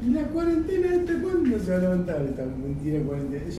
¿Y la cuarentena esta cuándo se va a levantar esta mentira cuarentena?